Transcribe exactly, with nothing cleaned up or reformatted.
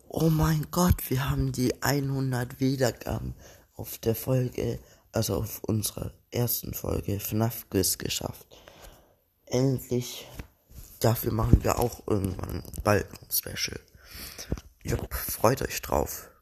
Oh mein Gott, wir haben die hundert Wiedergaben auf der Folge, also auf unserer ersten Folge F NAF Quiz geschafft. Endlich. Dafür machen wir auch irgendwann bald ein Special. Jupp, freut euch drauf.